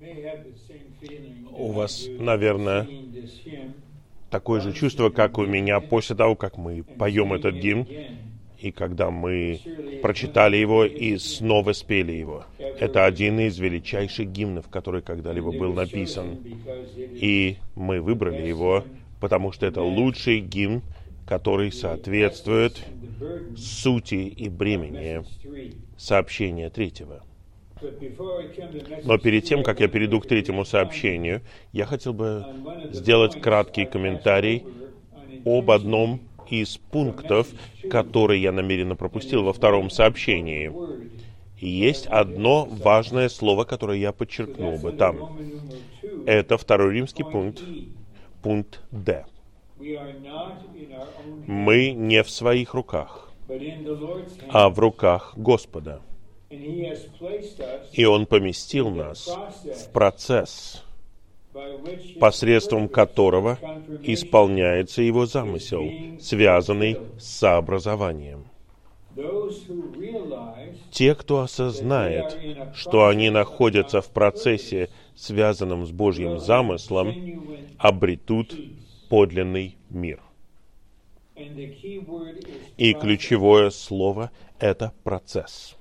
У вас, наверное, такое же чувство, как у меня после того, как мы поем этот гимн, и когда мы прочитали его и снова спели его. Это один из величайших гимнов, который когда-либо был написан. И мы выбрали его, потому что это лучший гимн, который соответствует сути и бремени сообщения третьего. Но перед тем, как я перейду к третьему сообщению, я хотел бы сделать краткий комментарий об одном из пунктов, которые я намеренно пропустил во втором сообщении. И есть одно важное слово, которое я подчеркнул бы там. Это второй римский пункт, пункт «Д». Мы не в своих руках, а в руках Господа. И Он поместил нас в процесс, посредством которого исполняется Его замысел, связанный с сообразованием. Те, кто осознает, что они находятся в процессе, связанном с Божьим замыслом, обретут подлинный мир. И ключевое слово — это процесс.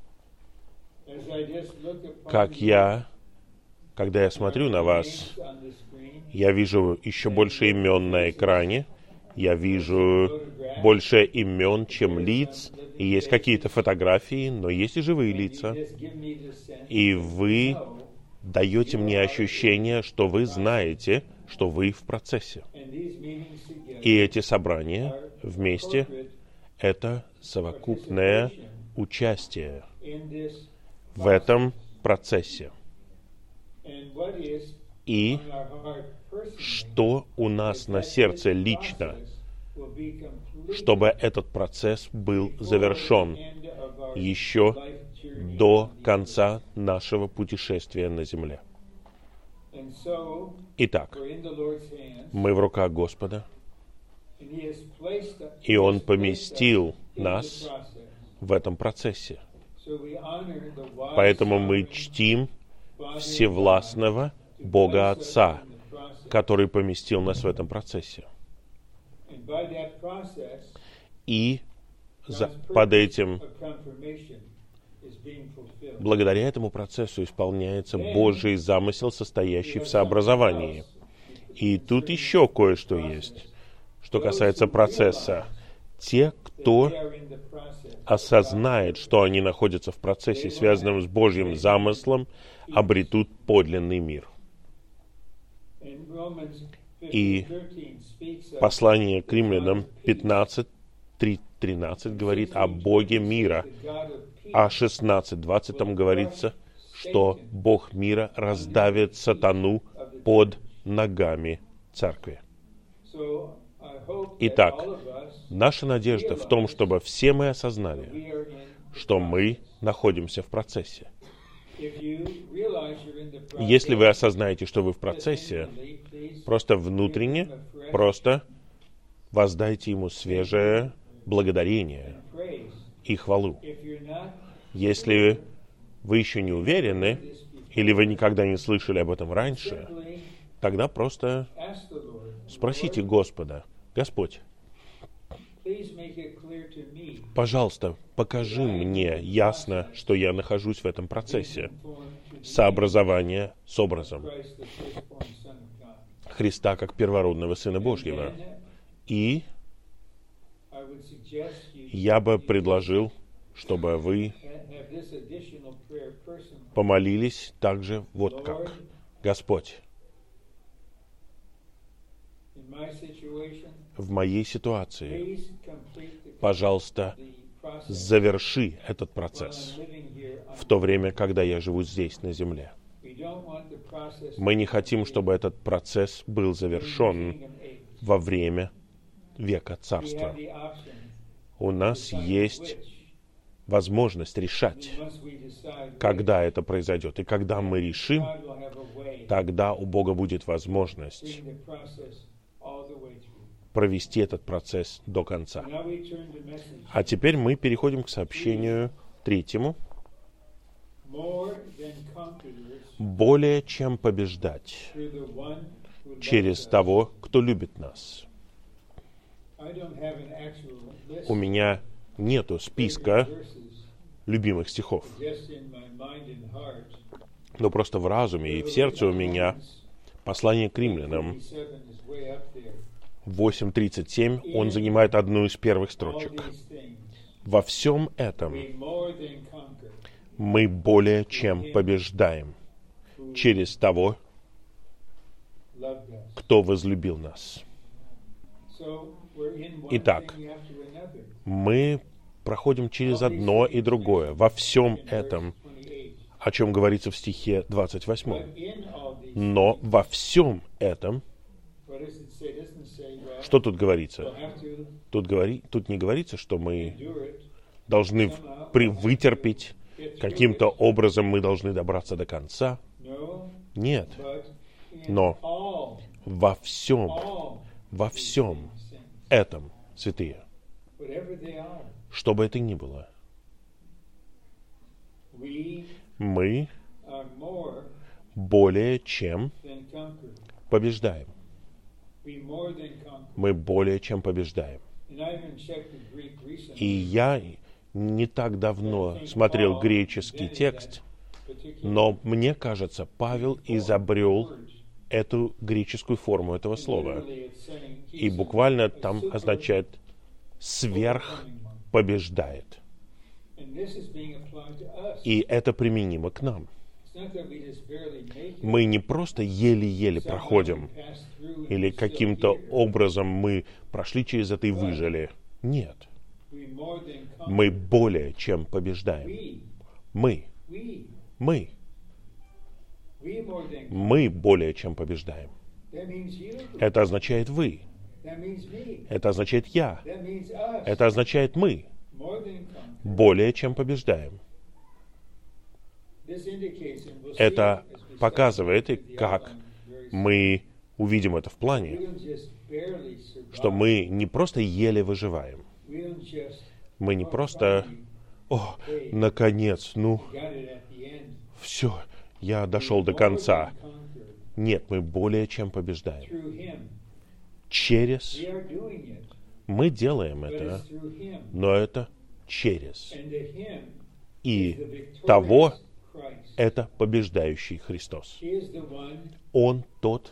Когда я смотрю на вас, я вижу еще больше имен на экране, я вижу больше имен, чем лиц, и есть какие-то фотографии, но есть и живые лица. И вы даете мне ощущение, что вы знаете, что вы в процессе. И эти собрания вместе — это совокупное участие в этом процессе. И что у нас на сердце лично, чтобы этот процесс был завершен еще до конца нашего путешествия на земле. Итак, мы в руках Господа, и Он поместил нас в этом процессе. Поэтому мы чтим всевластного Бога Отца, который поместил нас в этом процессе. И благодаря этому процессу исполняется Божий замысел, состоящий в сообразовании. И тут еще кое-что есть, что касается процесса. Те, кто осознает, что они находятся в процессе, связанном с Божьим замыслом, обретут подлинный мир. И послание к Римлянам 15:13 говорит о Боге мира, а 16:20 там говорится, что Бог мира раздавит сатану под ногами церкви. Итак, наша надежда в том, чтобы все мы осознали, что мы находимся в процессе. Если вы осознаете, что вы в процессе, просто внутренне, просто воздайте Ему свежее благодарение и хвалу. Если вы еще не уверены, или вы никогда не слышали об этом раньше, тогда просто спросите Господа: Господь, пожалуйста, покажи мне ясно, что я нахожусь в этом процессе сообразования с образом Христа как первородного Сына Божьего. И я бы предложил, чтобы вы помолились также вот как: Господь, в моей ситуации, пожалуйста, заверши этот процесс в то время, когда я живу здесь, на земле. Мы не хотим, чтобы этот процесс был завершен во время века Царства. У нас есть возможность решать, когда это произойдет. И когда мы решим, тогда у Бога будет возможность провести этот процесс до конца. А теперь мы переходим к сообщению третьему. более чем побеждать через того, кто любит нас. У меня нету списка любимых стихов, но просто в разуме и в сердце у меня послание к римлянам 8:37, он занимает одну из первых строчек. Во всем этом мы более чем побеждаем через того, кто возлюбил нас. Итак, мы проходим через одно и другое. Во всем этом, о чем говорится в стихе 28. Но во всем этом, что тут говорится? Тут не говорится, что мы должны вытерпеть, каким-то образом мы должны добраться до конца. Нет. Но во всем этом, святые, что бы это ни было, мы более чем побеждаем. Мы более чем побеждаем. И я не так давно смотрел греческий текст, но мне кажется, Павел изобрел эту греческую форму этого слова. И буквально там означает «сверх побеждает». И это применимо к нам. Мы не просто еле-еле проходим, или каким-то образом мы прошли через это и выжили. Нет. Мы более чем побеждаем. Мы более чем побеждаем. Это означает вы. Это означает я. Это означает мы. Более чем побеждаем. Это показывает, и как мы увидим это в плане, что мы не просто еле выживаем. Мы не просто, наконец, все, я дошел до конца. Нет, мы более чем побеждаем. Через... Мы делаем это, но это через. И того это побеждающий Христос. Он тот,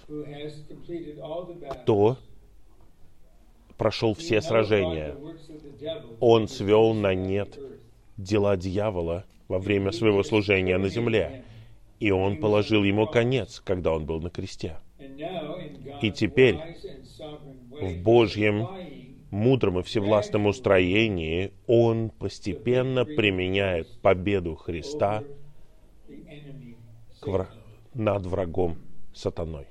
кто прошел все сражения. Он свел на нет дела дьявола во время своего служения на земле. И он положил ему конец, когда он был на кресте. И теперь в Божьем мудром и всевластном устроении он постепенно применяет победу Христа над врагом сатаной.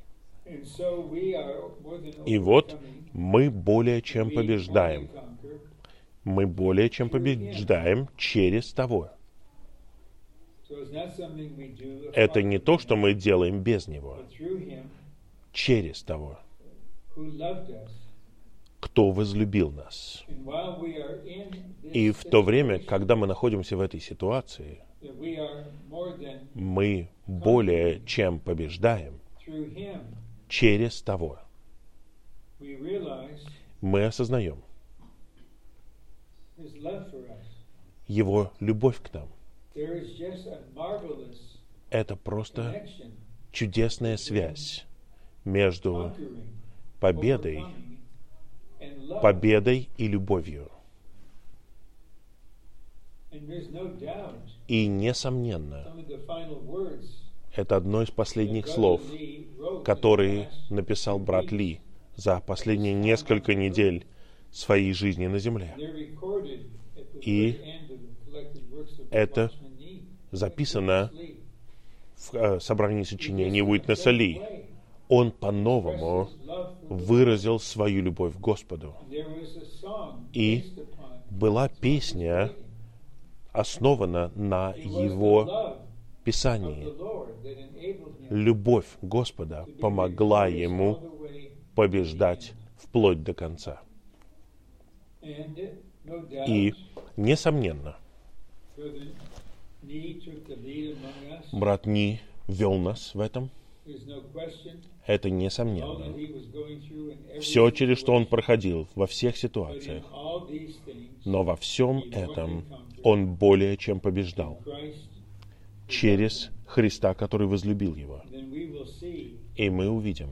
И вот мы более чем побеждаем. Мы более чем побеждаем через того. Это не то, что мы делаем без Него. Через того, кто возлюбил нас. И в то время, когда мы находимся в этой ситуации, мы более чем побеждаем через того. Мы осознаем Его любовь к нам. Это просто чудесная связь между победой и любовью. И, несомненно, это одно из последних слов, которые написал брат Ли за последние несколько недель своей жизни на земле. И это записано в собрании сочинений Уитнеса Ли. Он по-новому выразил свою любовь к Господу. И была песня, основана на его Писании. Любовь Господа помогла ему побеждать вплоть до конца. И, несомненно, Брат Ни вел нас в этом. Это несомненно. Все, через что он проходил, во всех ситуациях. Но во всем этом он более чем побеждал через Христа, который возлюбил его. И мы увидим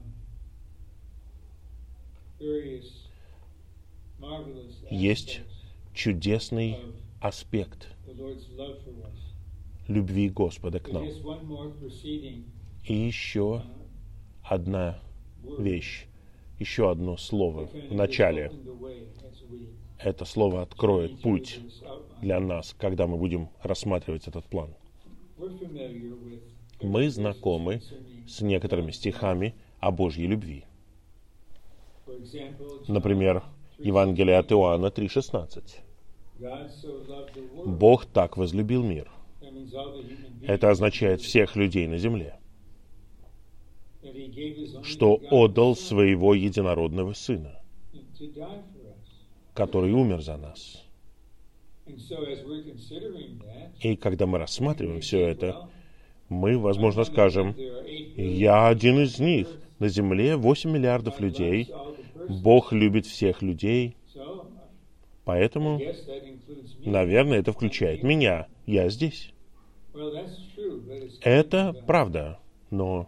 есть чудесный аспект любви Господа к нам. И еще одна вещь, еще одно слово в начале. Это слово откроет путь для нас, когда мы будем рассматривать этот план. Мы знакомы с некоторыми стихами о Божьей любви. Например, Евангелие от Иоанна 3,16. Бог так возлюбил мир. Это означает всех людей на земле, что отдал своего единородного Сына, который умер за нас. И когда мы рассматриваем все это, мы, возможно, скажем: я один из них. На земле 8 миллиардов людей. Бог любит всех людей. Поэтому, наверное, это включает меня. Я здесь. Это правда, но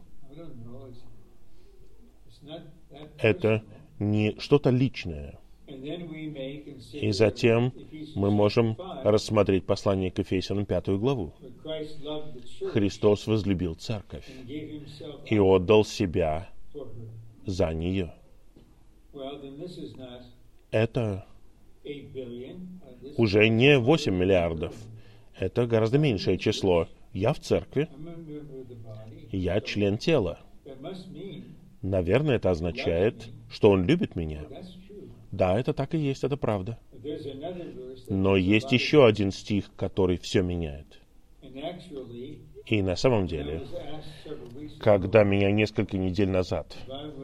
это не что-то личное. И затем мы можем рассмотреть послание к Ефесянам 5 главу. Христос возлюбил церковь и отдал себя за нее. Это уже не 8 миллиардов. Это гораздо меньшее число. Я в церкви. Я член тела. Наверное, это означает, что Он любит меня. Да, это так и есть, это правда. Но есть еще один стих, который все меняет. И на самом деле, когда меня несколько недель назад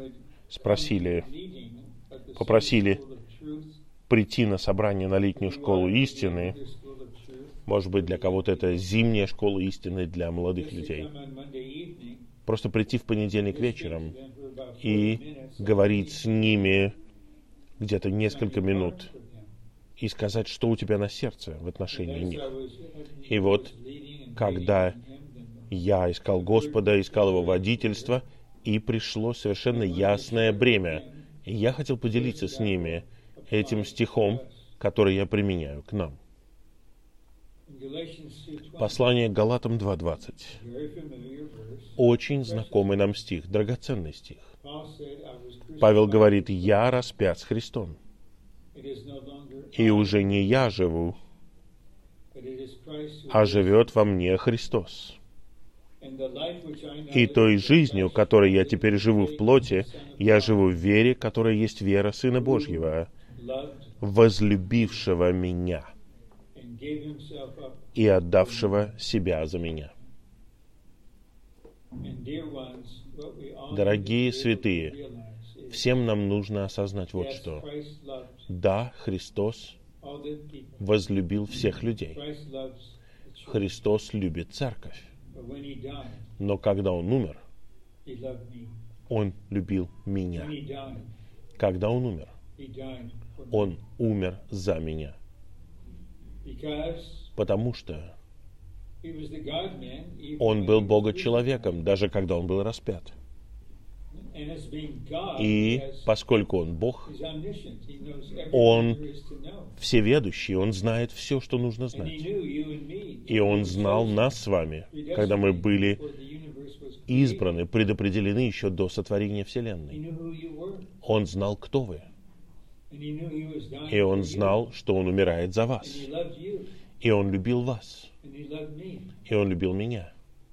попросили прийти на собрание на летнюю школу истины, может быть, для кого-то это зимняя школа истины для молодых людей, просто прийти в понедельник вечером и говорить с ними где-то несколько минут и сказать, что у тебя на сердце в отношении них. И вот, когда я искал Господа, искал Его водительство, и пришло совершенно ясное бремя, и я хотел поделиться с ними этим стихом, который я применяю к нам. Послание к Галатам 2:20. Очень знакомый нам стих, драгоценный стих. Павел говорит: «Я распят с Христом, и уже не я живу, а живет во мне Христос. И той жизнью, которой я теперь живу в плоти, я живу в вере, которая есть вера Сына Божьего, возлюбившего меня и отдавшего себя за меня». Дорогие святые, всем нам нужно осознать вот что. Да, Христос возлюбил всех людей. Христос любит церковь. Но когда Он умер, Он любил меня. Когда Он умер, Он умер за меня. Потому что Он был Бога-человеком, даже когда Он был распят. И поскольку Он Бог, Он всеведущий, Он знает все, что нужно знать. И Он знал нас с вами, когда мы были избраны, предопределены еще до сотворения Вселенной. Он знал, кто вы. И Он знал, что Он умирает за вас. И Он любил вас. И Он любил меня.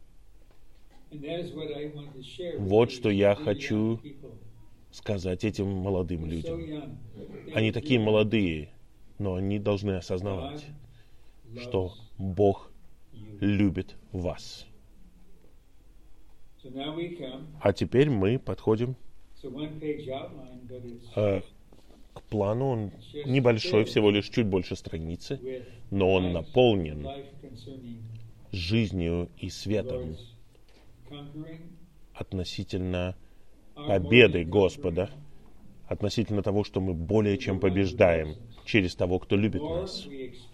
Вот что я хочу сказать этим молодым людям. Они такие молодые, но они должны осознавать, что Бог любит вас. А теперь мы подходим к план, он небольшой, всего лишь чуть больше страницы, но он наполнен жизнью и светом относительно победы Господа, относительно того, что мы более чем побеждаем через того, кто любит нас.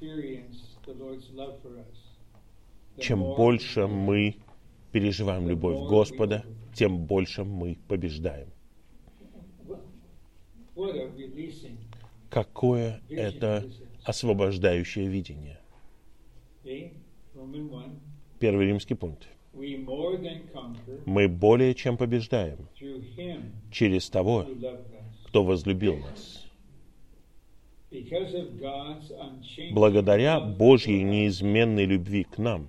Чем больше мы переживаем любовь Господа, тем больше мы побеждаем. Какое это освобождающее видение. Первый римский пункт. Мы более чем побеждаем через того, кто возлюбил нас. Благодаря Божьей неизменной любви к нам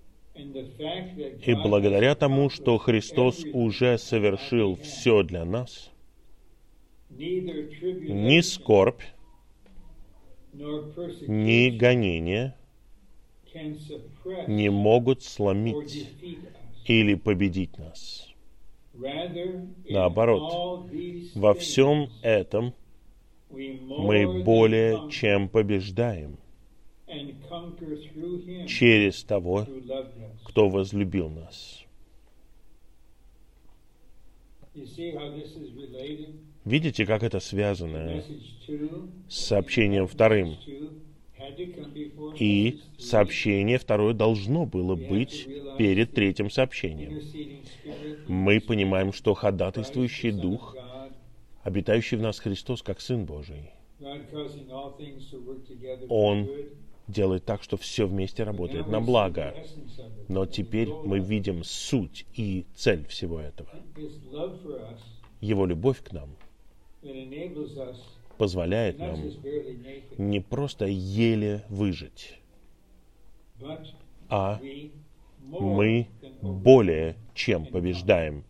и благодаря тому, что Христос уже совершил все для нас, ни скорбь, ни гонение не могут сломить или победить нас. Наоборот, во всем этом мы более чем побеждаем через того, кто возлюбил нас. Видите, как это связано с сообщением вторым? И сообщение второе должно было быть перед третьим сообщением. Мы понимаем, что ходатайствующий Дух, обитающий в нас Христос, как Сын Божий, Он делает так, что все вместе работает на благо. Но теперь мы видим суть и цель всего этого. Его любовь к нам позволяет нам не просто еле выжить, а мы более чем побеждаем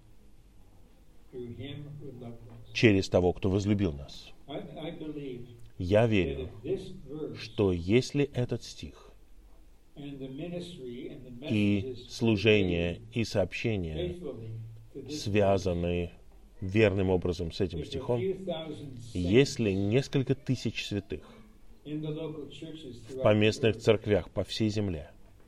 через того, кто возлюбил нас. Я верю, что если этот стих и служение, и сообщение связаны верным образом с этим стихом, если несколько тысяч святых в поместных церквях по всей земле,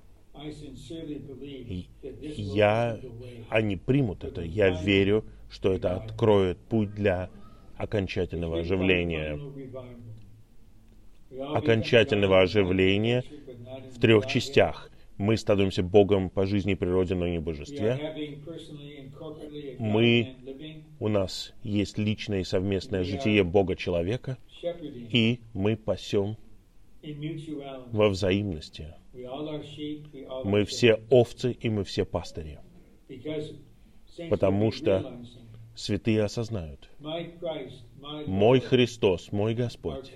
они примут это, я верю, что это откроет путь для окончательного оживления. Окончательного оживления в 3 частях. Мы становимся Богом по жизни и природе, но не божестве. У нас есть личное и совместное житие Бога-человека, и мы пасем во взаимности. Мы все овцы, и мы все пастыри. Потому что святые осознают: мой Христос, мой Господь,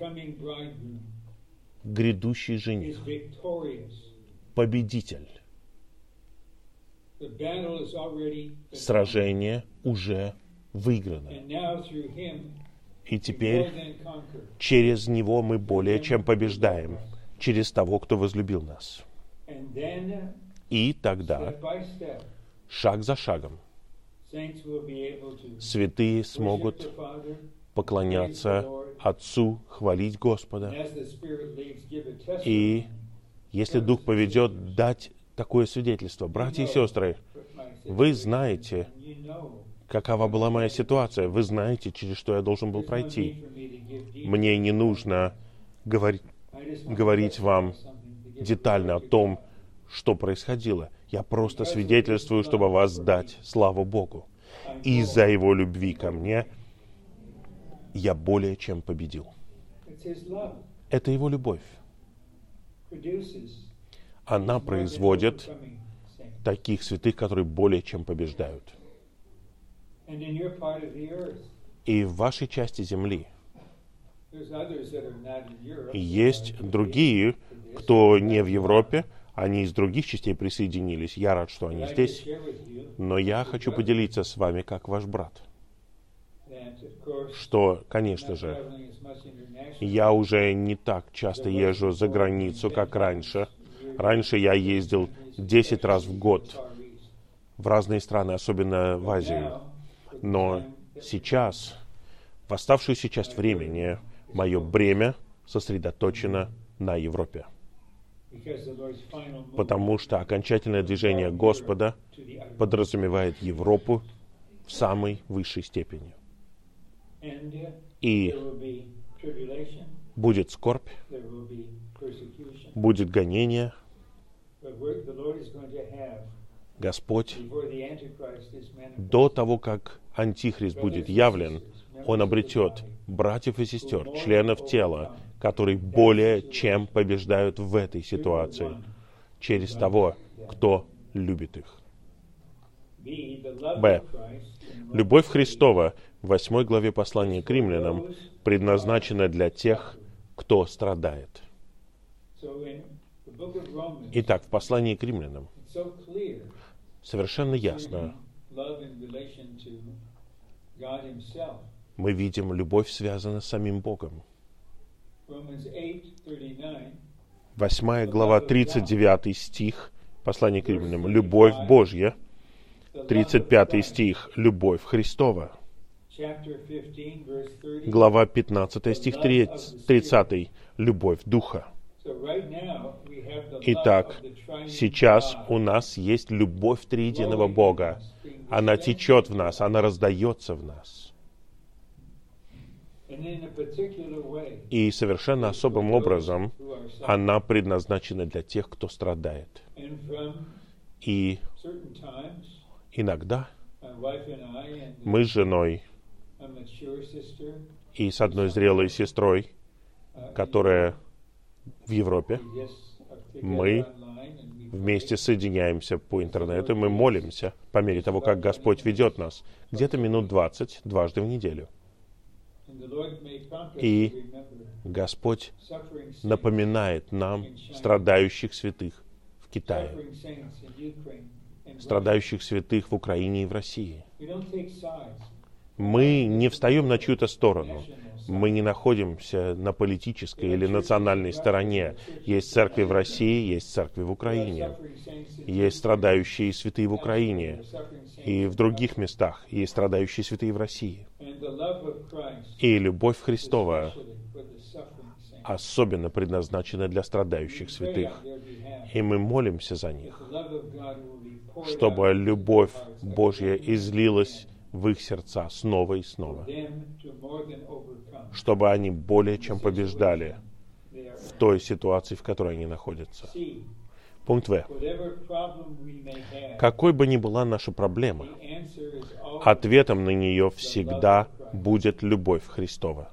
грядущий жених, победитель. Сражение уже выиграно. И теперь через Него мы более чем побеждаем, через того, кто возлюбил нас. И тогда, шаг за шагом, святые смогут поклоняться Отцу, хвалить Господа. И если Дух поведет, дать такое свидетельство. Братья и сестры, вы знаете, какова была моя ситуация. Вы знаете, через что я должен был пройти. Мне не нужно говорить вам детально о том, что происходило. Я просто свидетельствую, чтобы воздать славу Богу. Из-за Его любви ко мне я более чем победил. Это Его любовь. Она производит таких святых, которые более чем побеждают. И в вашей части земли есть другие, кто не в Европе, они из других частей присоединились. Я рад, что они здесь. Но я хочу поделиться с вами, как ваш брат, что, конечно же, я уже не так часто езжу за границу, как раньше. Раньше я ездил 10 раз в год в разные страны, особенно в Азию. Но сейчас, в оставшуюся часть времени, Мое бремя сосредоточено на Европе. Потому что окончательное движение Господа подразумевает Европу в самой высшей степени. И будет скорбь, будет гонение. Господь, до того, как Антихрист будет явлен, Он обретет братьев и сестер, членов тела, которые более чем побеждают в этой ситуации, через того, кто любит их. Б. Любовь Христова в 8 главе послания к римлянам предназначена для тех, кто страдает. Итак, в послании к римлянам совершенно ясно мы видим, любовь связана с самим Богом. 8 глава, 39 стих, послание к римлянам. Любовь Божья. 35 стих. Любовь Христова. Глава 15, стих 30. Любовь Духа. Итак, сейчас у нас есть любовь триединого Бога. Она течет в нас, она раздается в нас. И совершенно особым образом она предназначена для тех, кто страдает. И иногда мы с женой и с одной зрелой сестрой, которая в Европе, мы вместе соединяемся по интернету, мы молимся по мере того, как Господь ведет нас, где-то минут 20, дважды в неделю. И Господь напоминает нам страдающих святых в Китае, страдающих святых в Украине и в России. Мы не встаем на чью-то сторону. Мы не находимся на политической или национальной стороне. Есть церкви в России, есть церкви в Украине. Есть страдающие святые в Украине. И в других местах есть страдающие святые в России. И любовь Христова особенно предназначена для страдающих святых. И мы молимся за них, чтобы любовь Божья излилась в их сердца снова и снова, чтобы они более чем побеждали в той ситуации, в которой они находятся. Пункт В. Какой бы ни была наша проблема, ответом на нее всегда будет любовь Христова.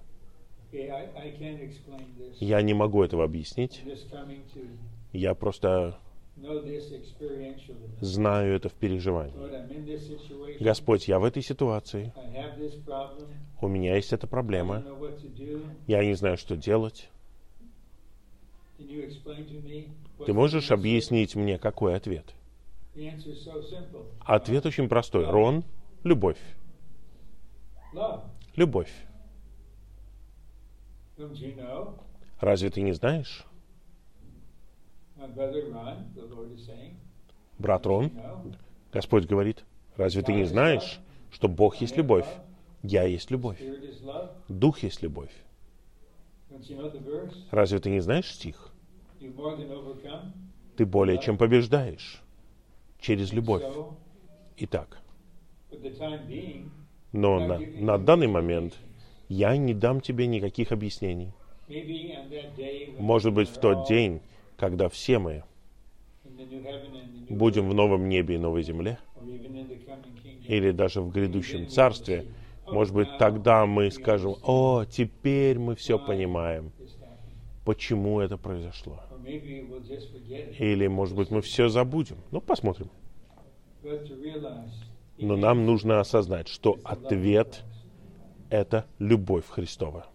Я не могу этого объяснить. Я просто знаю это в переживании. Господь, я в этой ситуации. У меня есть эта проблема. Я не знаю, что делать. Ты можешь объяснить мне, какой ответ? Ответ очень простой. Рон, любовь. Любовь. Разве ты не знаешь? Брат Рон, Господь говорит, разве ты не знаешь, что Бог есть любовь? Я есть любовь. Дух есть любовь. Разве ты не знаешь стих? Ты более чем побеждаешь через любовь. Итак, но на данный момент я не дам тебе никаких объяснений. Может быть, в тот день, когда все мы будем в новом небе и новой земле, или даже в грядущем царстве, может быть, тогда мы скажем: «О, теперь мы все понимаем, почему это произошло». Или, может быть, мы все забудем. Ну, посмотрим. Но нам нужно осознать, что ответ — это любовь Христова.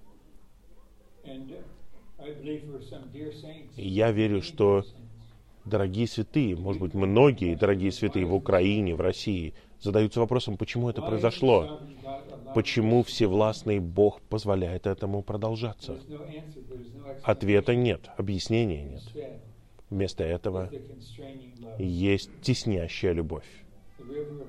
И я верю, что дорогие святые, может быть, многие дорогие святые в Украине, в России, задаются вопросом, почему это произошло? Почему всевластный Бог позволяет этому продолжаться? Ответа нет, объяснения нет. Вместо этого есть теснящая любовь.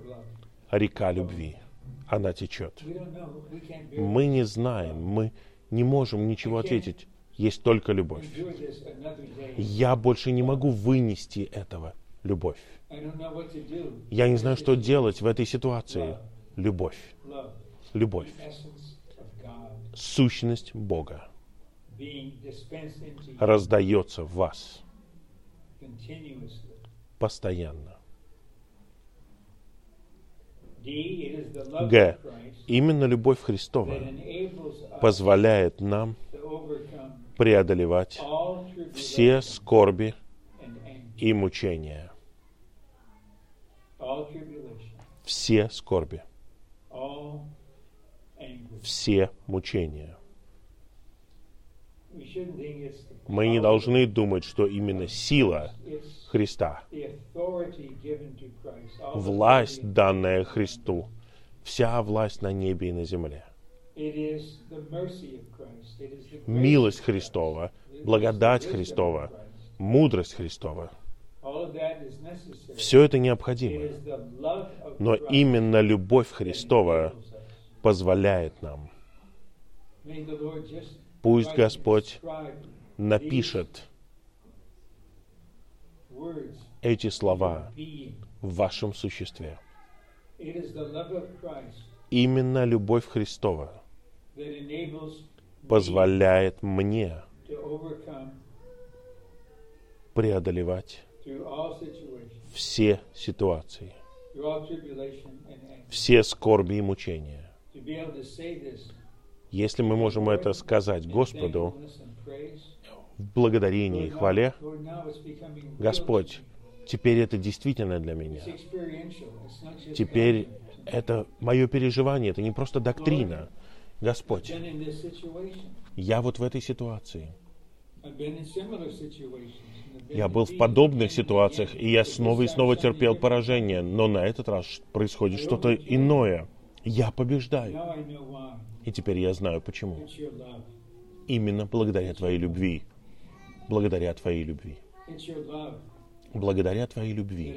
Река любви. Она течет. Мы не знаем, мы не можем ничего ответить. Есть только любовь. Я больше не могу вынести этого. Любовь. Я не знаю, что делать в этой ситуации. Любовь. Любовь. Сущность Бога раздается в вас постоянно. Г. Именно любовь Христова позволяет нам преодолевать все скорби и мучения. Все скорби. Все мучения. Мы не должны думать, что именно сила Христа, власть, данная Христу, вся власть на небе и на земле. Милость Христова, благодать Христова, мудрость Христова. Все это необходимо. Но именно любовь Христова позволяет нам. Пусть Господь напишет эти слова в вашем существе. Именно любовь Христова позволяет мне преодолевать все ситуации, все скорби и мучения. Если мы можем это сказать Господу в благодарении и хвале, Господь, теперь это действительно для меня. Теперь это мое переживание, это не просто доктрина. Господь, я вот в этой ситуации. Я был в подобных ситуациях, и я снова и снова терпел поражение, но на этот раз происходит что-то иное. Я побеждаю. И теперь я знаю, почему. Именно благодаря Твоей любви. Благодаря Твоей любви. Благодаря Твоей любви.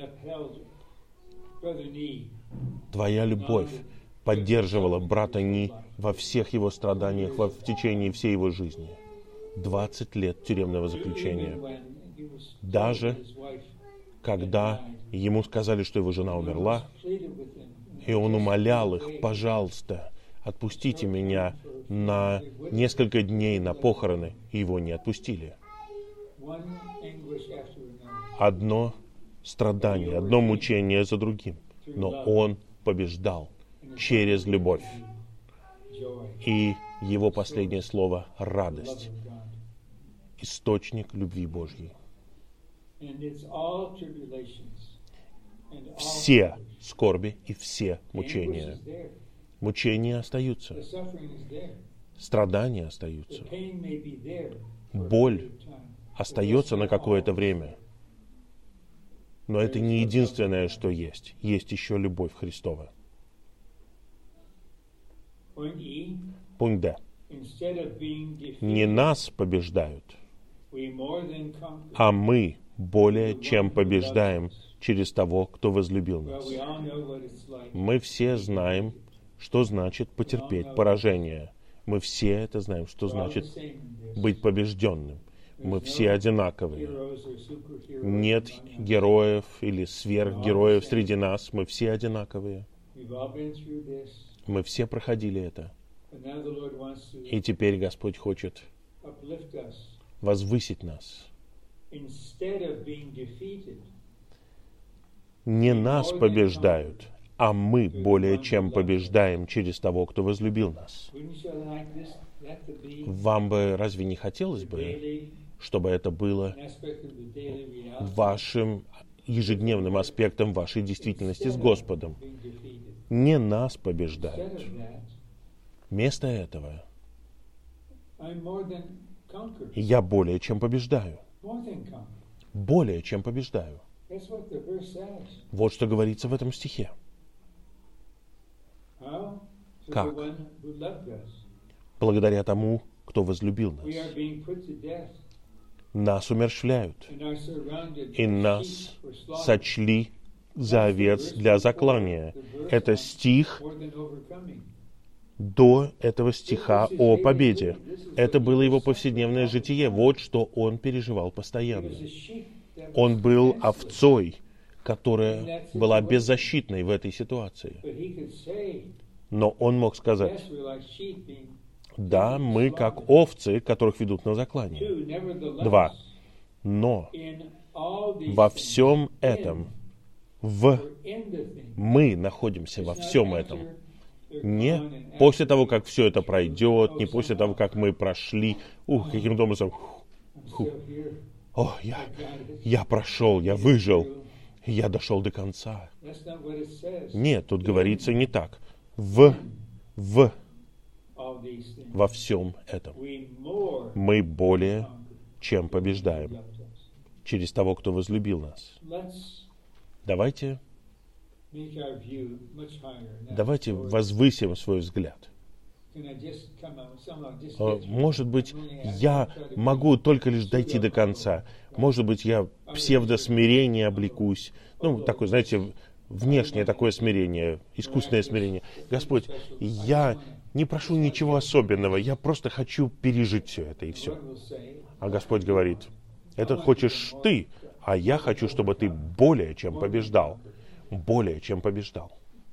Твоя любовь поддерживала брата Ни во всех его страданиях, в течение всей его жизни. 20 лет тюремного заключения. Даже когда ему сказали, что его жена умерла, и он умолял их: пожалуйста, отпустите меня на несколько дней на похороны, и его не отпустили. Одно страдание, одно мучение за другим, но он побеждал через любовь. И его последнее слово — радость, источник любви Божьей. Все скорби и все мучения. Мучения остаются. Страдания остаются. Боль остается на какое-то время. Но это не единственное, что есть. Есть еще любовь Христова. Пункт Д. Не нас побеждают, а мы более чем побеждаем через того, кто возлюбил нас. Мы все знаем, что значит потерпеть поражение. Мы все это знаем, что значит быть побежденным. Мы все одинаковые. Нет героев или сверхгероев среди нас. Мы все одинаковые. Мы все проходили это. И теперь Господь хочет возвысить нас. Не нас побеждают, а мы более чем побеждаем через того, кто возлюбил нас. Вам бы разве не хотелось бы, чтобы это было вашим ежедневным аспектом вашей действительности с Господом? Не нас побеждают. Вместо этого я более чем побеждаю. Более чем побеждаю. Вот что говорится в этом стихе. Как? Благодаря тому, кто возлюбил нас. Нас умерщвляют, и нас сочли за овец для заклания. Это стих до этого стиха о победе. Это было его повседневное житие. Вот что он переживал постоянно. Он был овцой, которая была беззащитной в этой ситуации. Но он мог сказать: да, мы как овцы, которых ведут на заклание. 2. Но во всем этом, мы находимся во всем этом. Не после того, как все это пройдет, не после того, как мы прошли, каким-то образом, я прошел, я выжил, я дошел до конца. Нет, тут говорится не так. Во всем этом мы более чем побеждаем через того, кто возлюбил нас. Давайте возвысим свой взгляд. Может быть, я могу только лишь дойти до конца. Может быть, я псевдосмирение облекусь. Такое, знаете, внешнее такое смирение, искусственное смирение. Господь, я не прошу ничего особенного, я просто хочу пережить все это, и все. А Господь говорит: это хочешь ты, а я хочу, чтобы ты более чем побеждал. Более чем побеждал.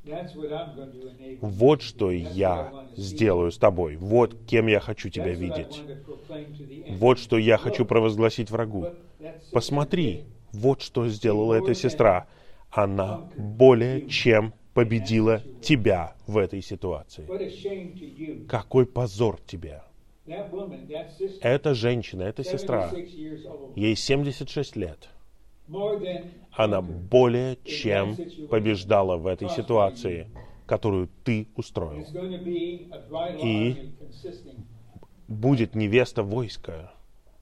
Вот что я сделаю с тобой. Вот кем я хочу тебя видеть. Вот что я хочу провозгласить врагу. Посмотри, вот что сделала эта сестра. Она более чем победила тебя в этой ситуации. Какой позор тебе. Эта женщина, эта сестра, ей 76 лет. Она более чем побеждала в этой ситуации, которую ты устроил. И будет невеста войска,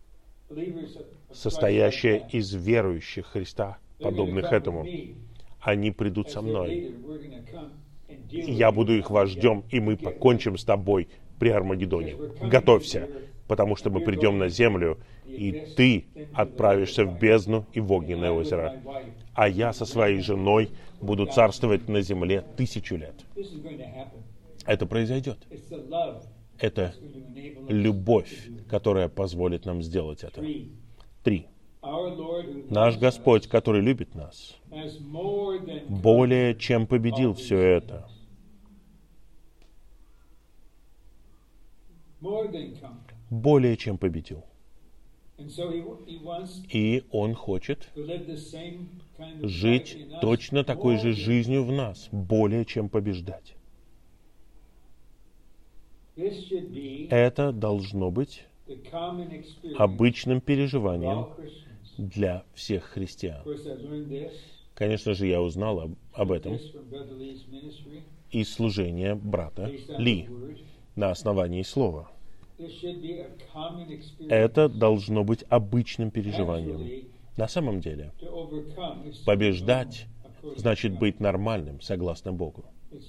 состоящая из верующих Христа, подобных этому. Они придут со мной. Я буду их вождем, и мы покончим с тобой при Армагеддоне. Готовься, потому что мы придем на землю, и ты отправишься в бездну и в огненное озеро. А я со своей женой буду царствовать на земле 1000 лет. Это произойдет. Это любовь, которая позволит нам сделать это. 3. Наш Господь, который любит нас, более чем победил все это. Более чем победил. И Он хочет жить точно такой же жизнью в нас, более чем побеждать. Это должно быть обычным переживанием для всех христиан. Конечно же, я узнал об этом из служения брата Ли на основании слова. Это должно быть обычным переживанием. На самом деле, побеждать значит быть нормальным, согласно Богу.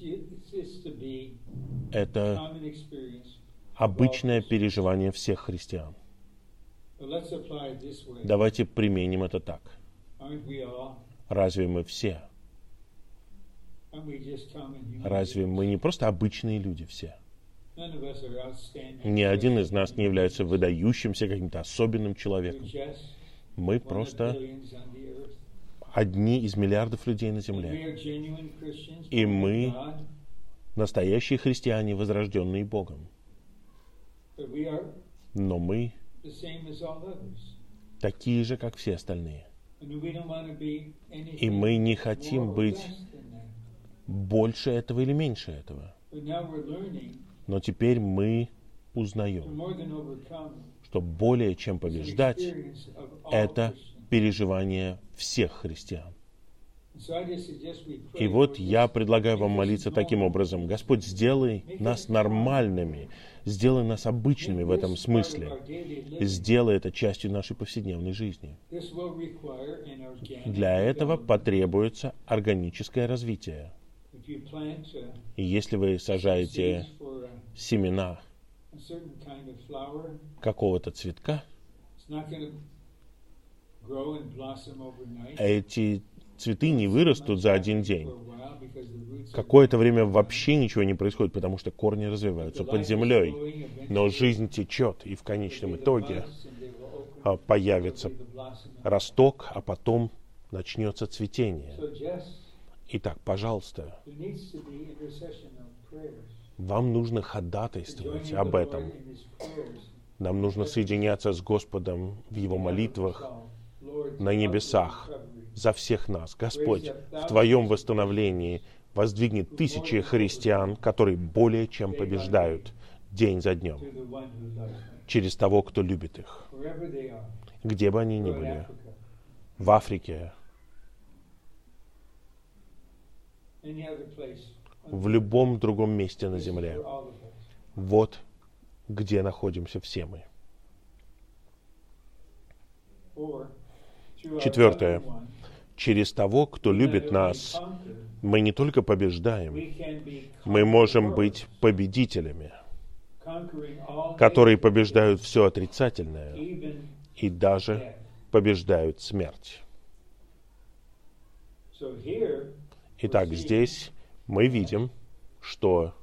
Это обычное переживание всех христиан. Давайте применим это так. Разве мы все? Разве мы не просто обычные люди все? Ни один из нас не является выдающимся каким-то особенным человеком. Мы просто одни из миллиардов людей на земле. И мы настоящие христиане, возрожденные Богом. Но мы такие же, как все остальные. И мы не хотим быть больше этого или меньше этого. Но теперь мы узнаем, что более чем побеждать, это переживание всех христиан. И вот я предлагаю вам молиться таким образом: Господь, сделай нас нормальными, сделай нас обычными в этом смысле, сделай это частью нашей повседневной жизни. Для этого потребуется органическое развитие. И если вы сажаете семена какого-то цветка, эти цветы не вырастут за один день. Какое-то время вообще ничего не происходит, потому что корни развиваются под землей. Но жизнь течет, и в конечном итоге появится росток, а потом начнется цветение. Итак, пожалуйста, вам нужно ходатайствовать об этом. Нам нужно соединяться с Господом в Его молитвах на небесах за всех нас. Господь, в Твоем восстановлении воздвигнет тысячи христиан, которые более чем побеждают день за днем через того, кто любит их. Где бы они ни были, в Африке, в любом другом месте на земле. Вот где находимся все мы. Четвертое. Через того, кто любит нас, мы не только побеждаем, мы можем быть победителями, которые побеждают все отрицательное и даже побеждают смерть. Итак, здесь мы видим, что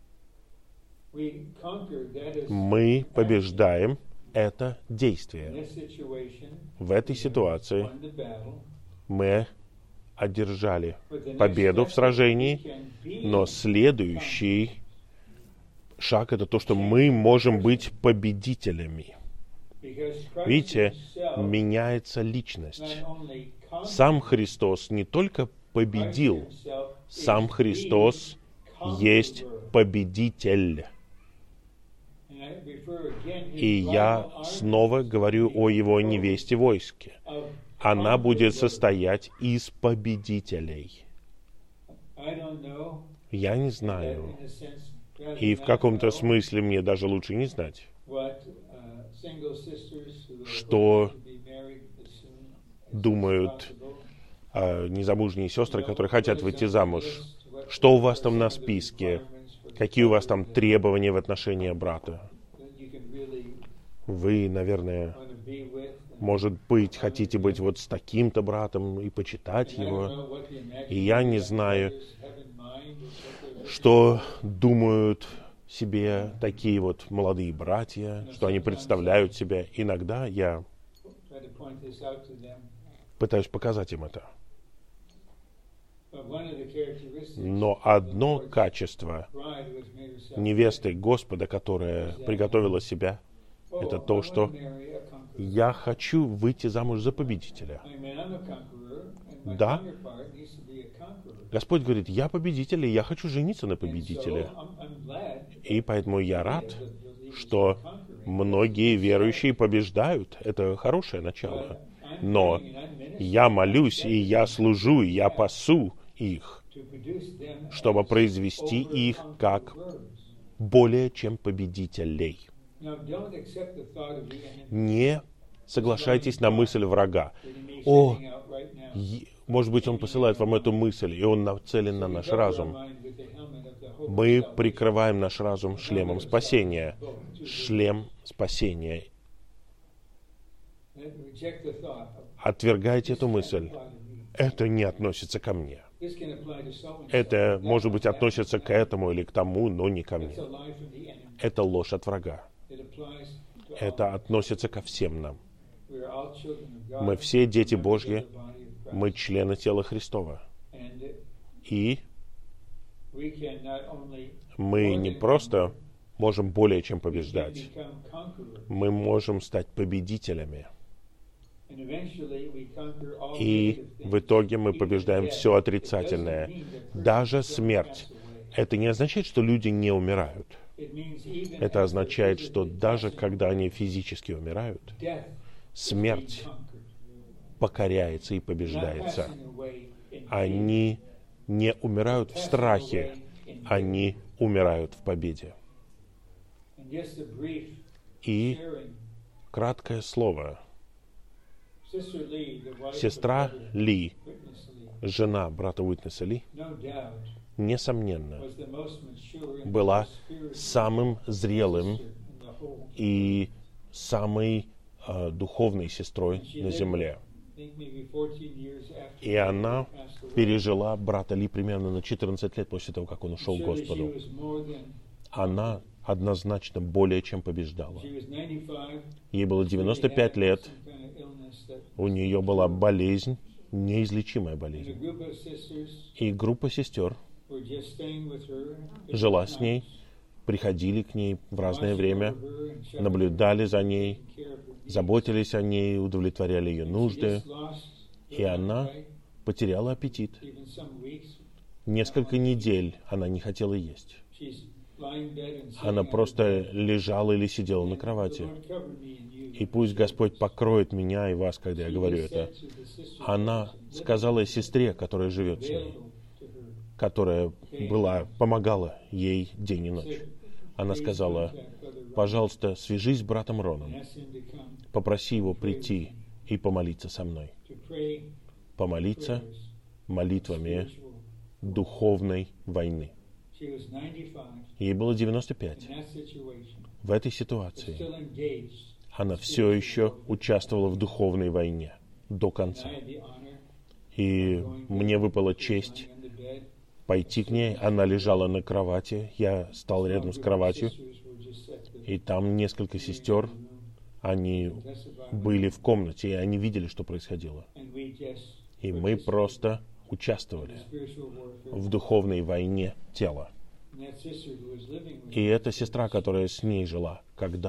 мы побеждаем это действие. В этой ситуации мы одержали победу в сражении, но следующий шаг — это то, что мы можем быть победителями. Видите, меняется личность. Сам Христос не только победил, сам Христос есть победитель. И я снова говорю о Его невесте войске. Она будет состоять из победителей. Я не знаю, и в каком-то смысле мне даже лучше не знать, что думают незамужние сестры, которые хотят выйти замуж. Что у вас там на списке? Какие у вас там требования в отношении брата? Вы, наверное, может быть, хотите быть вот с таким-то братом и почитать его. И я не знаю, что думают себе такие вот молодые братья, что они представляют себя. Иногда я пытаюсь показать им это. Но одно качество невесты Господа, которая приготовила себя, это то, что я хочу выйти замуж за победителя. Да, Господь говорит, я победитель, и я хочу жениться на победителе. И поэтому я рад, что многие верующие побеждают. Это хорошее начало. Но я молюсь, и я служу, и я пасу их, чтобы произвести их как более чем победителей. Не соглашайтесь на мысль врага. О, может быть, он посылает вам эту мысль, и он нацелен на наш разум. Мы прикрываем наш разум шлемом спасения. Шлем спасения. Отвергайте эту мысль. Это не относится ко мне. Это, может быть, относится к этому или к тому, но не ко мне. Это ложь от врага. Это относится ко всем нам. Мы все дети Божьи, мы члены тела Христова. И мы не просто можем более чем побеждать, мы можем стать победителями. И в итоге мы побеждаем все отрицательное, даже смерть. Это не означает, что люди не умирают. Это означает, что даже когда они физически умирают, смерть покоряется и побеждается. Они не умирают в страхе, они умирают в победе. И краткое слово. Сестра Ли, жена брата Уитнеса Ли, несомненно, была самым зрелым и самой духовной сестрой на земле. И она пережила брата Ли примерно на 14 лет после того, как он ушел к Господу. Она однозначно более чем побеждала. Ей было 95 лет. У нее была болезнь, неизлечимая болезнь. И группа сестер жила с ней, приходили к ней в разное время, наблюдали за ней, заботились о ней, удовлетворяли ее нужды. И она потеряла аппетит. Несколько недель она не хотела есть. Она просто лежала или сидела на кровати. И пусть Господь покроет меня и вас, когда я говорю это. Она сказала сестре, которая живет с ней, которая помогала ей день и ночь. Она сказала: пожалуйста, свяжись с братом Роном, попроси его прийти и помолиться со мной. Помолиться молитвами духовной войны. Ей было 95. В этой ситуации она все еще участвовала в духовной войне до конца. И мне выпала честь пойти к ней. Она лежала на кровати. Я стал рядом с кроватью. И там несколько сестер, они были в комнате, и они видели, что происходило. И мы просто участвовали в духовной войне тела. И эта сестра, которая с ней жила,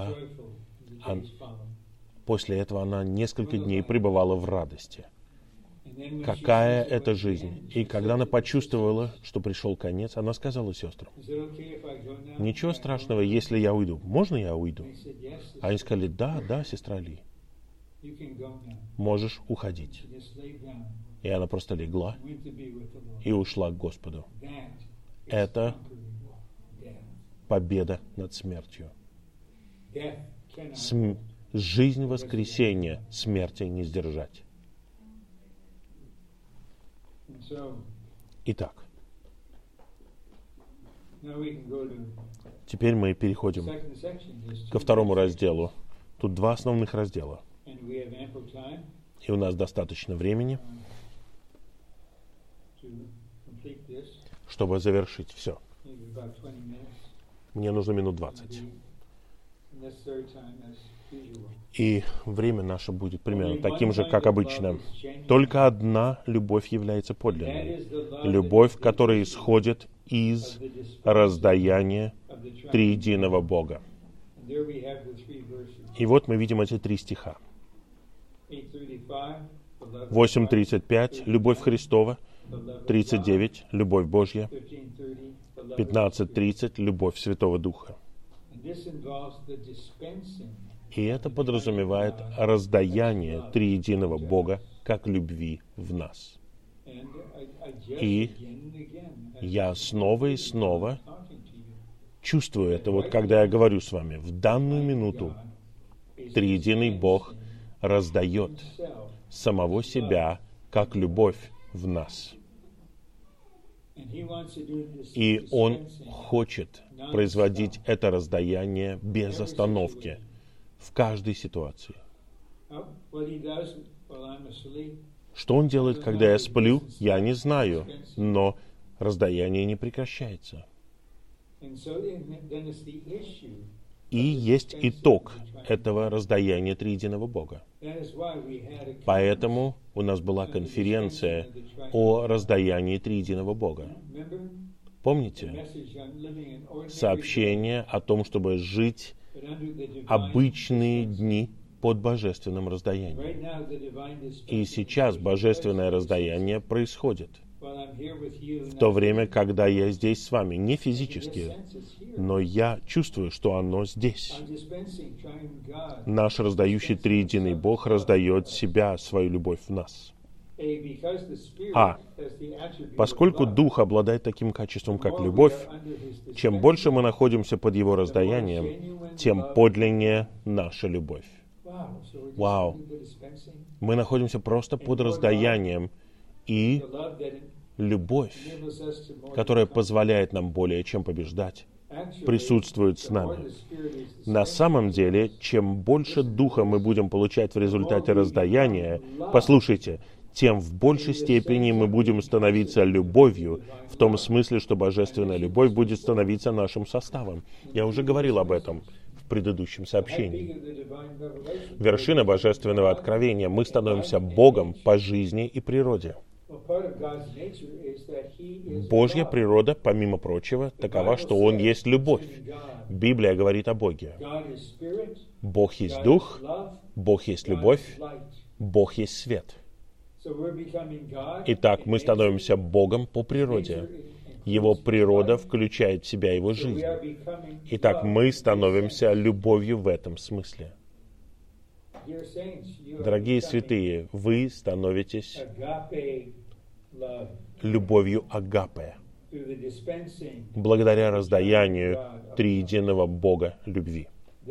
после этого она несколько дней пребывала в радости. Какая это жизнь! И когда она почувствовала, что пришел конец, она сказала сестрам: ничего страшного, если я уйду. Можно я уйду? Они сказали: да, сестра Ли, можешь уходить. И она просто легла и ушла к Господу. Это победа над смертью. Жизнь воскресения смерти не сдержать. Итак, теперь мы переходим ко второму разделу. Тут два основных раздела. И у нас достаточно времени, чтобы завершить все. Мне нужно минут 20. И время наше будет примерно таким же, как обычно. Только одна любовь является подлинной. Любовь, которая исходит из раздаяния триединого Бога. И вот мы видим эти 3 стиха. 8:35 — любовь Христова, 39 — любовь Божья, 15:30 — любовь Святого Духа. И это подразумевает раздаяние триединого Бога как любви в нас. И я снова и снова чувствую это, вот когда я говорю с вами. В данную минуту триединый Бог раздает самого себя как любовь в нас. И Он хочет производить это раздаяние без остановки в каждой ситуации. Что Он делает, когда я сплю, я не знаю, но раздаяние не прекращается. И есть итог этого раздаяния триединого Бога. Поэтому у нас была конференция о раздаянии триединого Бога. Помните? Сообщение о том, чтобы жить обычные дни под божественным раздаянием. И сейчас божественное раздаяние происходит. В то время, когда я здесь с вами, не физически, но я чувствую, что оно здесь. Наш раздающий триединый Бог раздает себя, свою любовь в нас. Поскольку Дух обладает таким качеством, как любовь, чем больше мы находимся под Его раздаянием, тем подлиннее наша любовь. Вау! Мы находимся просто под раздаянием, и любовь, которая позволяет нам более чем побеждать, присутствует с нами. На самом деле, чем больше Духа мы будем получать в результате раздаяния, послушайте, тем в большей степени мы будем становиться любовью, в том смысле, что божественная любовь будет становиться нашим составом. Я уже говорил об этом в предыдущем сообщении. Вершина божественного откровения. Мы становимся Богом по жизни и природе. Божья природа, помимо прочего, такова, что Он есть любовь. Библия говорит о Боге. Бог есть Дух, Бог есть любовь, Бог есть свет. Итак, мы становимся Богом по природе. Его природа включает в себя Его жизнь. Итак, мы становимся любовью в этом смысле. Дорогие святые, вы становитесь любовью агапе, благодаря раздаянию триединого Бога любви.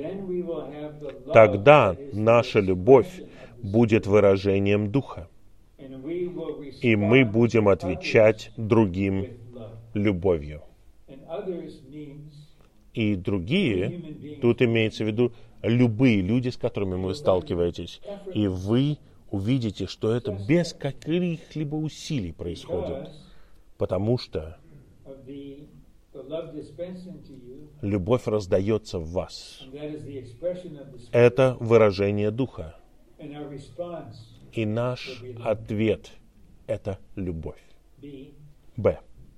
Тогда наша любовь будет выражением Духа, и мы будем отвечать другим любовью. И другие, тут имеется в виду любые люди, с которыми вы сталкиваетесь, и вы увидите, что это без каких-либо усилий происходит, потому что любовь раздается в вас. Это выражение Духа. И наш ответ — это любовь. Б.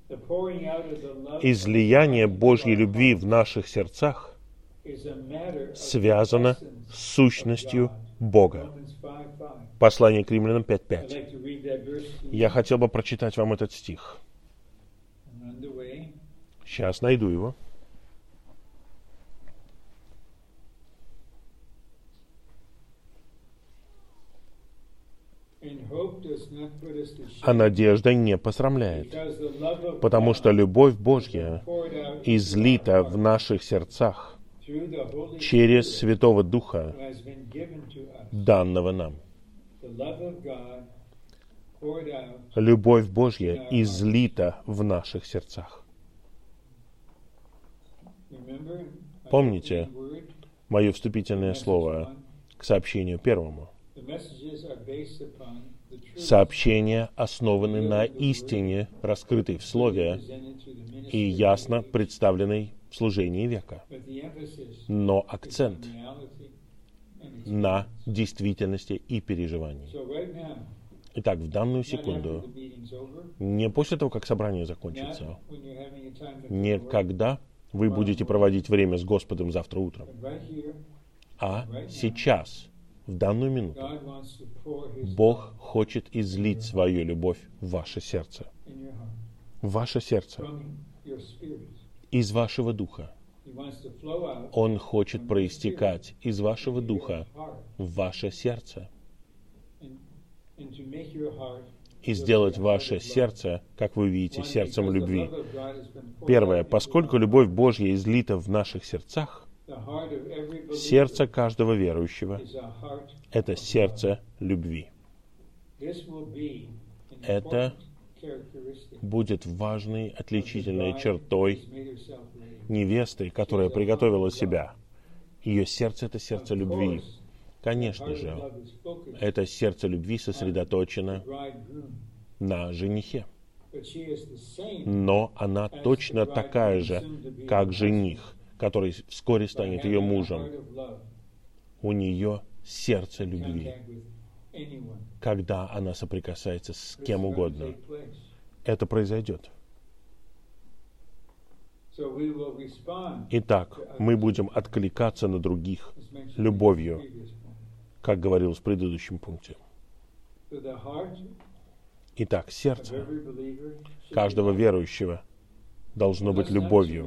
Излияние Божьей любви в наших сердцах связано с сущностью Бога. Послание к Римлянам 5:5. Я хотел бы прочитать вам этот стих. Сейчас найду его. А надежда не посрамляет, потому что любовь Божья излита в наших сердцах через Святого Духа, данного нам. Любовь Божья излита в наших сердцах. Помните мое вступительное слово к сообщению первому? Сообщения основаны на истине, раскрытой в Слове и ясно представленной в служении века. Но акцент на действительности и переживании. Итак, в данную секунду, не после того, как собрание закончится, не когда вы будете проводить время с Господом завтра утром, а сейчас, в данную минуту, Бог хочет излить свою любовь в ваше сердце. В ваше сердце. Из вашего духа. Он хочет проистекать из вашего духа в ваше сердце. И сделать ваше сердце, как вы видите, сердцем любви. Первое. Поскольку любовь Божья излита в наших сердцах, сердце каждого верующего — это сердце любви. Это будет важной отличительной чертой невесты, которая приготовила себя. Ее сердце — это сердце любви. Конечно же, это сердце любви сосредоточено на женихе. Но она точно такая же, как жених, который вскоре станет ее мужем. У нее сердце любви, когда она соприкасается с кем угодно. Это произойдет. Итак, мы будем откликаться на других любовью, как говорилось в предыдущем пункте. Итак, сердце каждого верующего должно быть любовью.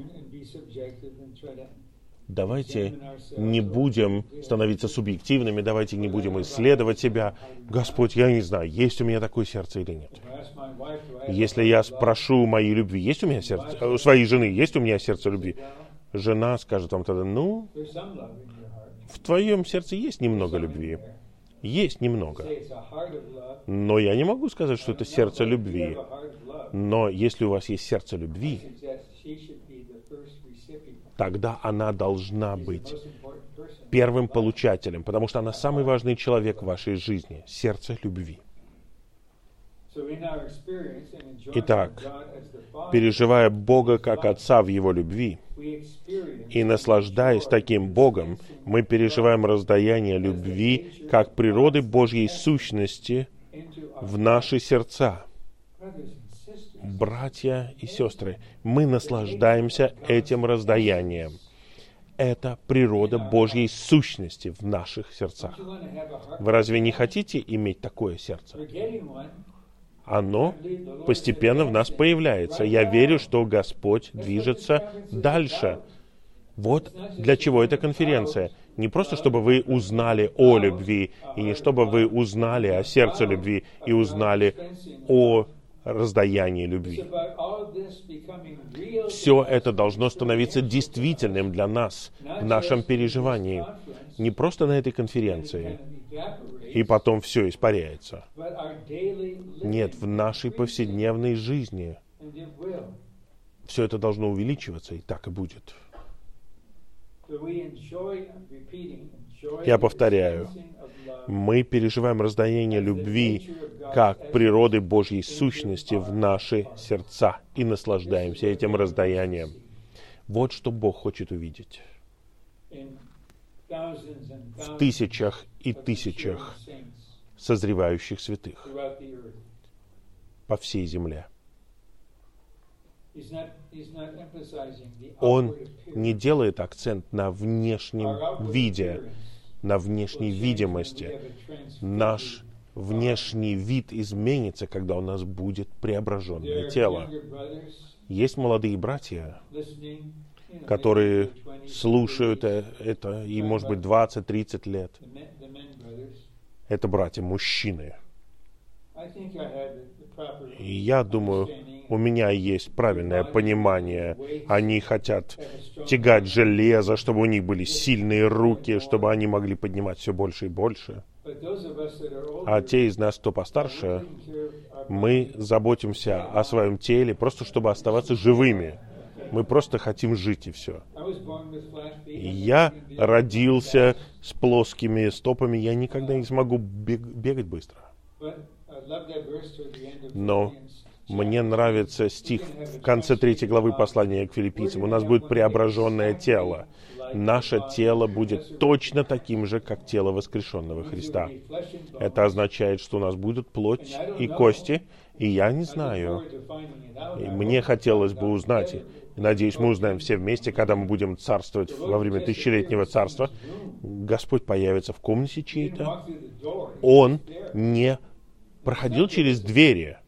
Давайте не будем становиться субъективными, давайте не будем исследовать себя. Господь, я не знаю, есть у меня такое сердце или нет. Если я спрошу моей любви, есть у меня сердце, у своей жены, есть у меня сердце любви, жена скажет вам тогда, ну, в твоем сердце есть немного любви. Есть немного. Но я не могу сказать, что это сердце любви. Но если у вас есть сердце любви, тогда она должна быть первым получателем, потому что она самый важный человек в вашей жизни, сердце любви. Итак, переживая Бога как Отца в Его любви и наслаждаясь таким Богом, мы переживаем раздаяние любви как природы Божьей сущности в наши сердца. Братья и сестры, мы наслаждаемся этим раздаянием. Это природа Божьей сущности в наших сердцах. Вы разве не хотите иметь такое сердце? Оно постепенно в нас появляется. Я верю, что Господь движется дальше. Вот для чего эта конференция. Не просто, чтобы вы узнали о любви, и не чтобы вы узнали о сердце любви и узнали о раздаянии любви. Все это должно становиться действительным для нас в нашем переживании. Не просто на этой конференции, и потом все испаряется. Нет, в нашей повседневной жизни все это должно увеличиваться, и так и будет. Я повторяю, мы переживаем раздаяние любви как природы Божьей сущности в наши сердца и наслаждаемся этим раздаянием. Вот что Бог хочет увидеть. В тысячах и тысячах созревающих святых по всей земле. Он не делает акцент на внешнем виде, на внешней видимости. Наш внешний вид изменится, когда у нас будет преображенное тело. Есть молодые братья, которые слушают это, и, может быть, 20-30 лет. Это братья-мужчины. И я думаю, у меня есть правильное понимание. Они хотят тягать железо, чтобы у них были сильные руки, чтобы они могли поднимать все больше и больше. А те из нас, кто постарше, мы заботимся о своем теле, просто чтобы оставаться живыми. Мы просто хотим жить, и все. Я родился с плоскими стопами, я никогда не смогу бегать быстро. Но мне нравится стих в конце 3 главы послания к Филиппийцам. У нас будет преображенное тело. Наше тело будет точно таким же, как тело воскрешенного Христа. Это означает, что у нас будут плоть и кости, и я не знаю. И мне хотелось бы узнать, надеюсь, мы узнаем все вместе, когда мы будем царствовать во время тысячелетнего царства. Господь появится в комнате чьей-то. Он не проходил через двери.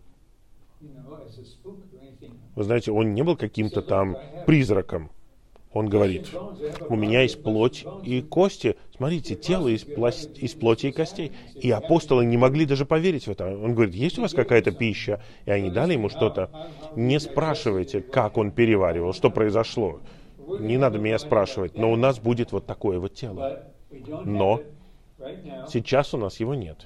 Вы знаете, он не был каким-то там призраком. Он говорит, у меня есть плоть и кости. Смотрите, тело из плоти и костей. И апостолы не могли даже поверить в это. Он говорит, есть у вас какая-то пища? И они дали ему что-то. Не спрашивайте, как он переваривал, что произошло. Не надо меня спрашивать, но у нас будет вот такое вот тело. Но сейчас у нас его нет.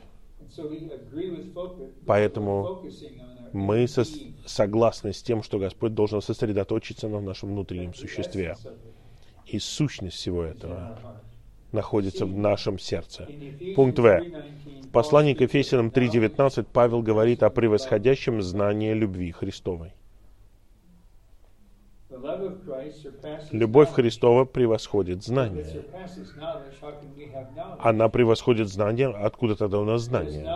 Поэтому мы согласны с тем, что Господь должен сосредоточиться на нашем внутреннем существе. И сущность всего этого находится в нашем сердце. Пункт В. В послании к Ефесянам 3:19 Павел говорит о превосходящем знании любви Христовой. Любовь Христова превосходит знание. Она превосходит знание. Откуда тогда у нас знание?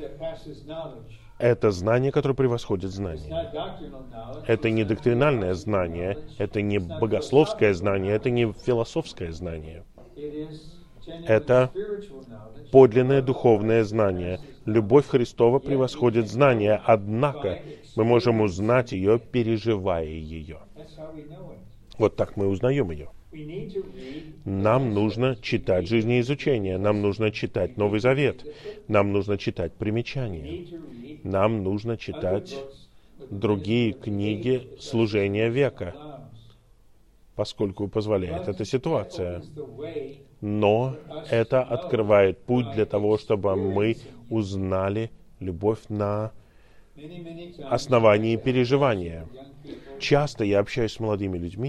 Это знание, которое превосходит знание. Это не доктринальное знание, это не богословское знание, это не философское знание. Это подлинное духовное знание. Любовь Христова превосходит знание, однако мы можем узнать ее, переживая ее. Вот так мы узнаем ее. Нам нужно читать жизнеизучение, нам нужно читать Новый Завет, нам нужно читать примечания, нам нужно читать другие книги служения века, поскольку позволяет эта ситуация. Но это открывает путь для того, чтобы мы узнали любовь на основания и переживания. Часто я общаюсь с молодыми людьми.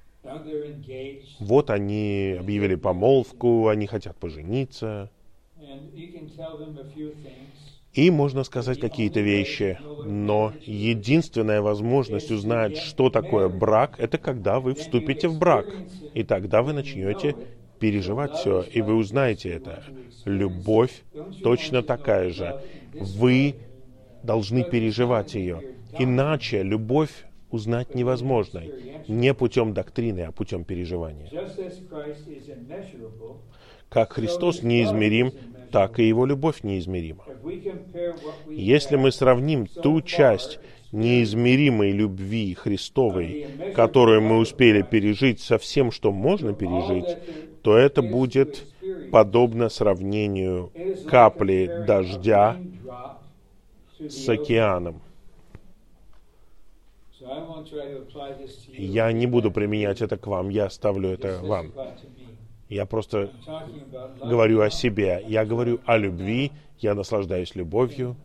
Вот они объявили помолвку, они хотят пожениться. И можно сказать какие-то вещи, но единственная возможность узнать, что такое брак, это когда вы вступите в брак. И тогда вы начнете переживать все, и вы узнаете это. Любовь точно такая же. Вы должны переживать ее. Иначе любовь узнать невозможно. Не путем доктрины, а путем переживания. Как Христос неизмерим, так и Его любовь неизмерима. Если мы сравним ту часть неизмеримой любви Христовой, которую мы успели пережить, со всем, что можно пережить, то это будет подобно сравнению капли дождя с океаном. Я не буду применять это к вам, я оставлю это вам. Я просто говорю о себе. Я говорю о любви, я наслаждаюсь любовью.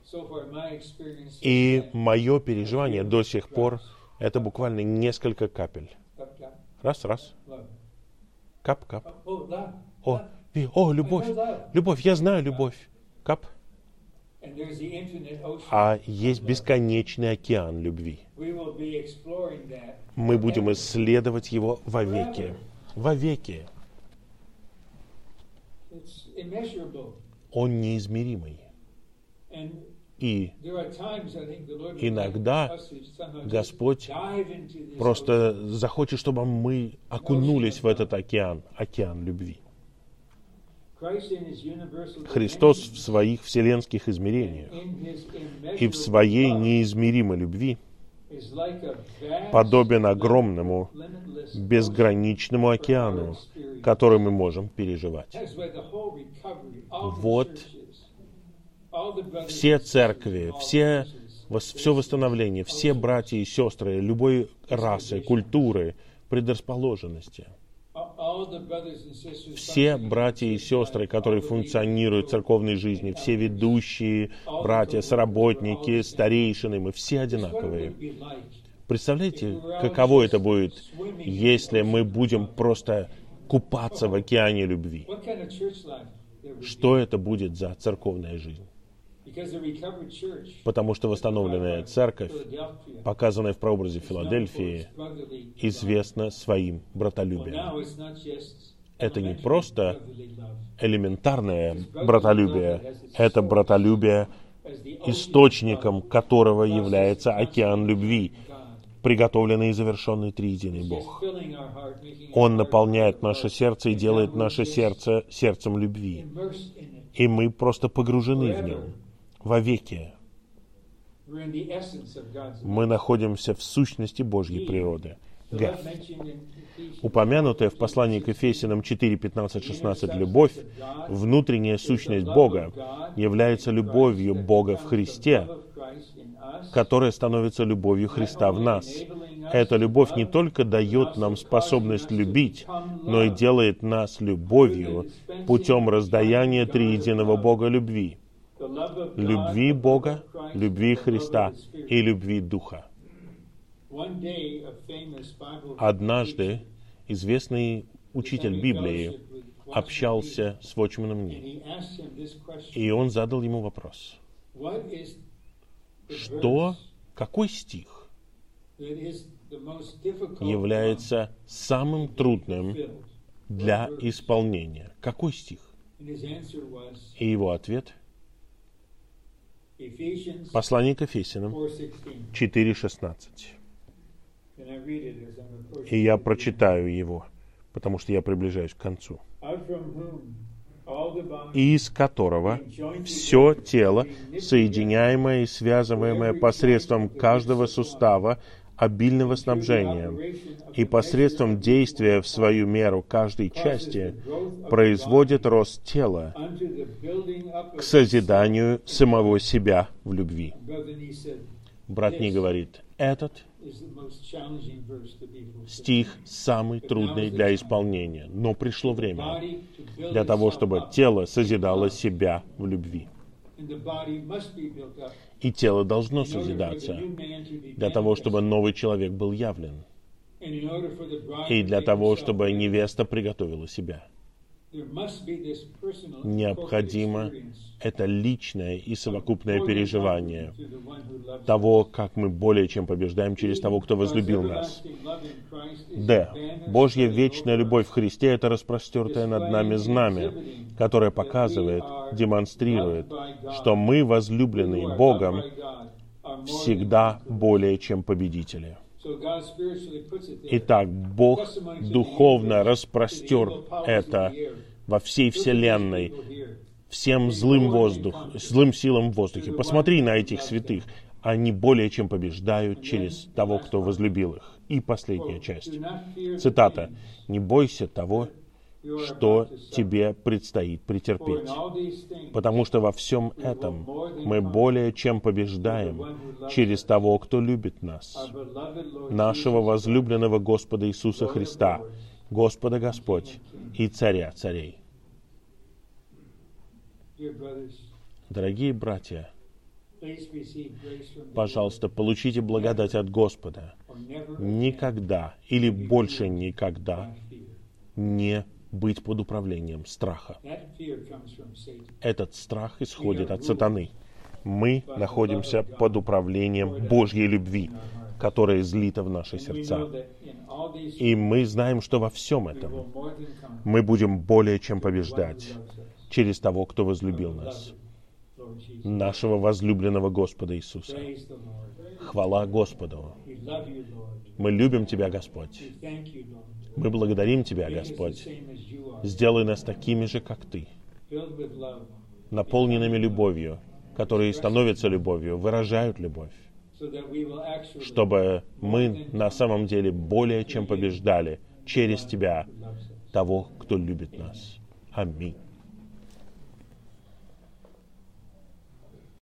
И мое переживание до сих пор — это буквально несколько капель. Раз. Кап. О, любовь. Любовь, я знаю любовь. Кап. А есть бесконечный океан любви. Мы будем исследовать его вовеки. Вовеки. Он неизмеримый. И иногда Господь просто захочет, чтобы мы окунулись в этот океан любви. Христос в своих вселенских измерениях и в своей неизмеримой любви подобен огромному, безграничному океану, который мы можем переживать. Вот все церкви, все восстановление, все братья и сестры любой расы, культуры, предрасположенности. Все братья и сестры, которые функционируют в церковной жизни, все ведущие, братья, соработники, старейшины, мы все одинаковые. Представляете, каково это будет, если мы будем просто купаться в океане любви? Что это будет за церковная жизнь? Потому что восстановленная церковь, показанная в прообразе Филадельфии, известна своим братолюбием. Это не просто элементарное братолюбие, это братолюбие, источником которого является океан любви, приготовленный и завершенный триединый Бог. Он наполняет наше сердце и делает наше сердце сердцем любви. И мы просто погружены в нем. Вовеки. Мы находимся в сущности Божьей природы. Г. Упомянутая в послании к Ефесянам 4, 15, 16 любовь, внутренняя сущность Бога, является любовью Бога в Христе, которая становится любовью Христа в нас. Эта любовь не только дает нам способность любить, но и делает нас любовью путем раздаяния триединого Бога любви. Любви Бога, любви Христа и любви Духа. Однажды известный учитель Библии общался с Watchman Nee, и он задал ему вопрос. Какой стих является самым трудным для исполнения? Какой стих? И его ответ — Послание к Ефесянам 4:16. И я прочитаю его, потому что я приближаюсь к концу. Из которого все тело, соединяемое и связываемое посредством каждого сустава, обильного снабжения, и посредством действия в свою меру каждой части, производит рост тела к созиданию самого себя в любви. Брат Ни говорит, этот стих самый трудный для исполнения, но пришло время для того, чтобы тело созидало себя в любви. И тело должно созидаться для того, чтобы новый человек был явлен, и для того, чтобы невеста приготовила себя. Необходимо это личное и совокупное переживание того, как мы более чем побеждаем через того, кто возлюбил нас. Д. Божья вечная любовь в Христе — это распростертое над нами знамя, которое показывает, демонстрирует, что мы, возлюбленные Богом, всегда более чем победители. Итак, Бог духовно распростер это во всей вселенной, всем злым силам в воздухе. Посмотри на этих святых. Они более чем побеждают через того, кто возлюбил их. И последняя часть. Цитата. «Не бойся того, что тебе предстоит претерпеть, потому что во всем этом мы более чем побеждаем через того, кто любит нас, нашего возлюбленного Господа Иисуса Христа, Господа Господь и Царя Царей». Дорогие братья, пожалуйста, получите благодать от Господа. Никогда или больше никогда не быть под управлением страха. Этот страх исходит от сатаны. Мы находимся под управлением Божьей любви, которая излита в наши сердца. И мы знаем, что во всем этом мы будем более чем побеждать через того, кто возлюбил нас, нашего возлюбленного Господа Иисуса. Хвала Господу! Мы любим Тебя, Господь. Мы благодарим Тебя, Господь. Сделай нас такими же, как Ты, наполненными любовью, которые становятся любовью, выражают любовь, чтобы мы на самом деле более чем побеждали через Тебя, того, кто любит нас. Аминь.